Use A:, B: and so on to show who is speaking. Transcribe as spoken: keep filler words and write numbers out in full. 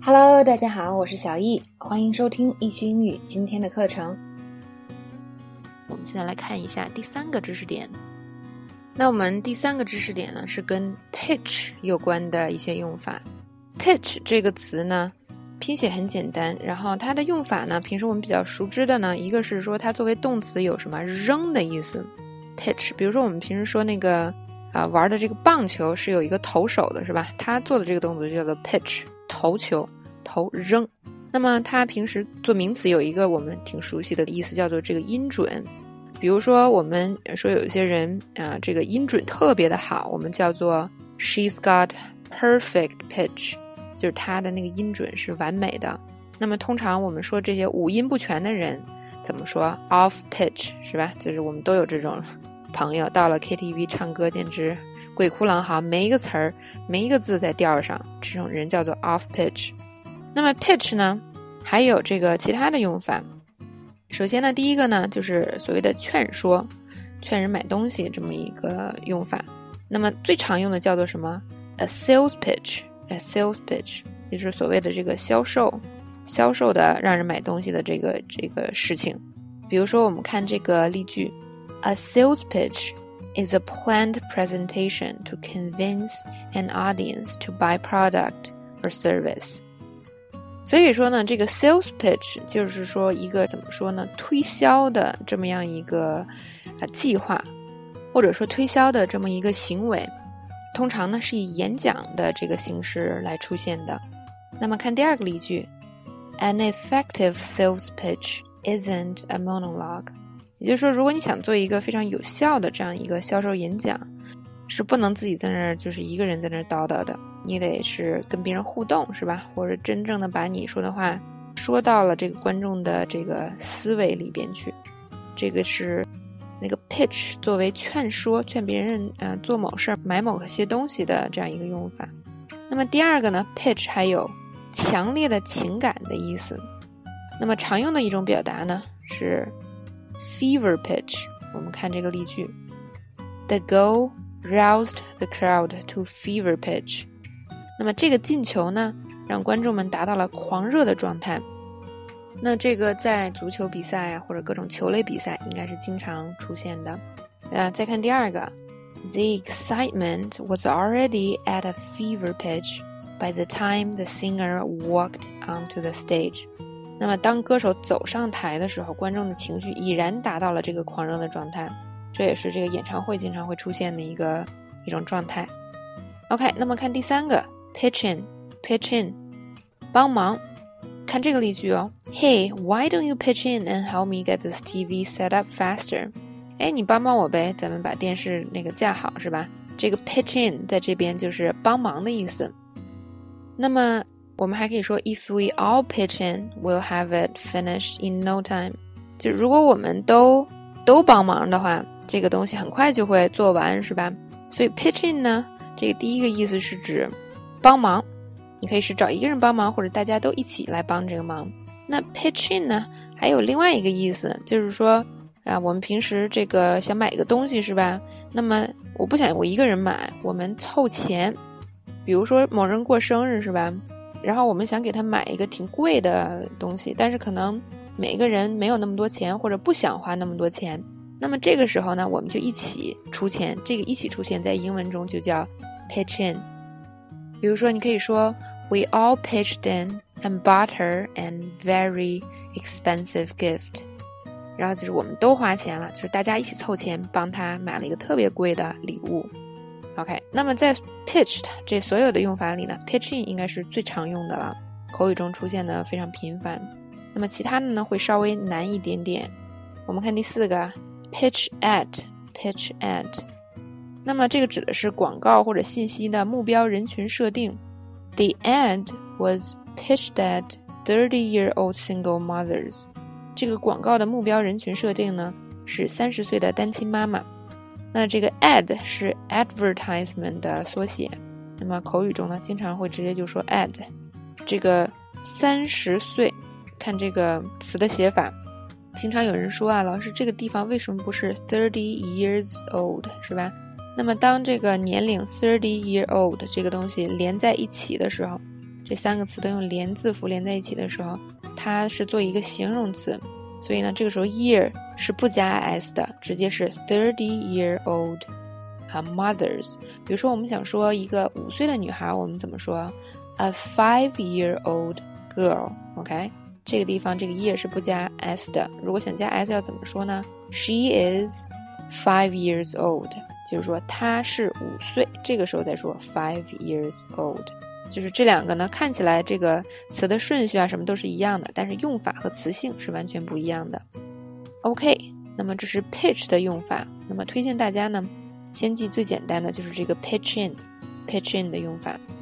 A: Hello， 大家好，我是小易，欢迎收听易趣英语今天的课程。
B: 我们现在来看一下第三个知识点。那我们第三个知识点呢，是跟 pitch 有关的一些用法。pitch 这个词呢，拼写很简单，然后它的用法呢，平时我们比较熟知的呢，一个是说它作为动词有什么扔的意思 pitch， 比如说我们平时说那个啊玩的这个棒球是有一个投手的是吧，他做的这个动作就叫做 pitch， 投球投扔。那么它平时做名词有一个我们挺熟悉的意思，叫做这个音准。比如说我们说有一些人啊、呃，这个音准特别的好，我们叫做 she's got perfect pitch， 就是她的那个音准是完美的。那么通常我们说这些五音不全的人怎么说 off pitch 是吧，就是我们都有这种朋友，到了 K T V 唱歌简直鬼哭狼嚎，每一个词儿每一个字在调上，这种人叫做 off pitch。那么 pitch 呢还有这个其他的用法。首先呢，第一个呢就是所谓的劝说，劝人买东西这么一个用法。那么最常用的叫做什么 a sales pitch a sales pitch 也就是所谓的这个销售销售的让人买东西的这个这个事情。比如说我们看这个例句， A sales pitch is a planned presentation to convince an audience to buy product or service。所以说呢，这个 sales pitch 就是说一个怎么说呢，推销的这么样一个、呃、计划，或者说推销的这么一个行为，通常呢是以演讲的这个形式来出现的。那么看第二个例句， An effective sales pitch isn't a monologue， 也就是说如果你想做一个非常有效的这样一个销售演讲，是不能自己在那儿就是一个人在那儿叨叨的，你得是跟别人互动是吧，或者真正的把你说的话说到了这个观众的这个思维里边去。这个是那个 pitch 作为劝说劝别人、呃、做某事买某些东西的这样一个用法。那么第二个呢， pitch 还有强烈的情感的意思。那么常用的一种表达呢是 fever pitch。 我们看这个例句， The goal roused the crowd to fever pitch。 那么这个进球呢让观众们达到了狂热的状态。那这个在足球比赛啊或者各种球类比赛应该是经常出现的。啊，再看第二个， The excitement was already at a fever pitch by the time the singer walked onto the stage。 那么当歌手走上台的时候，观众的情绪已然达到了这个狂热的状态，这也是这个演唱会经常会出现的一个一种状态。 OK， 那么看第三个 pitch in pitch in 帮忙。看这个例句哦， Hey, why don't you pitch in and help me get this T V set up faster？ 哎，你帮帮我呗，咱们把电视那个架好是吧。这个 pitch in 在这边就是帮忙的意思。那么我们还可以说 If we all pitch in, we'll have it finished in no time。 就如果我们都都帮忙的话，这个东西很快就会做完是吧。所以 pitch in 呢，这个第一个意思是指帮忙，你可以是找一个人帮忙，或者大家都一起来帮这个忙。那 pitch in 呢还有另外一个意思，就是说啊，我们平时这个想买一个东西是吧，那么我不想我一个人买，我们凑钱。比如说某人过生日是吧，然后我们想给他买一个挺贵的东西，但是可能每一个人没有那么多钱，或者不想花那么多钱，那么这个时候呢我们就一起出钱，这个一起出钱在英文中就叫 pitch in。 比如说你可以说 We all pitched in and bought her an very expensive gift， 然后就是我们都花钱了，就是大家一起凑钱帮她买了一个特别贵的礼物。 OK， 那么在 pitch 这所有的用法里呢， pitch in 应该是最常用的了，口语中出现的非常频繁。那么其他的呢会稍微难一点点。我们看第四个 pitch at pitch at。 那么这个指的是广告或者信息的目标人群设定。 The ad was pitched at thirty-year-old single mothers。 这个广告的目标人群设定呢是三十岁的单亲妈妈。那这个 ad 是 advertisement 的缩写，那么口语中呢经常会直接就说 ad。 这个三十岁，看这个词的写法，经常有人说啊，老师这个地方为什么不是 thirty years old 是吧？那么当这个年龄 thirty year old 这个东西连在一起的时候， 这三个词都用连字符连在一起的时候，它是做一个形容词，所以呢，这个时候 year 是不加 s 的，直接是 thirty year old mothers。比如说我们想说一个五岁的女孩，我们怎么说 ？A five year old girl。OK， 这个地方这个 year 是不加 s 的。如果想加 s 要怎么说呢 ？She is five years old， 就是说她是五岁。这个时候再说 five years old。就是这两个呢，看起来这个词的顺序啊什么都是一样的，但是用法和词性是完全不一样的。OK， 那么这是 pitch 的用法。那么推荐大家呢，先记最简单的就是这个 pitch in，pitch in 的用法。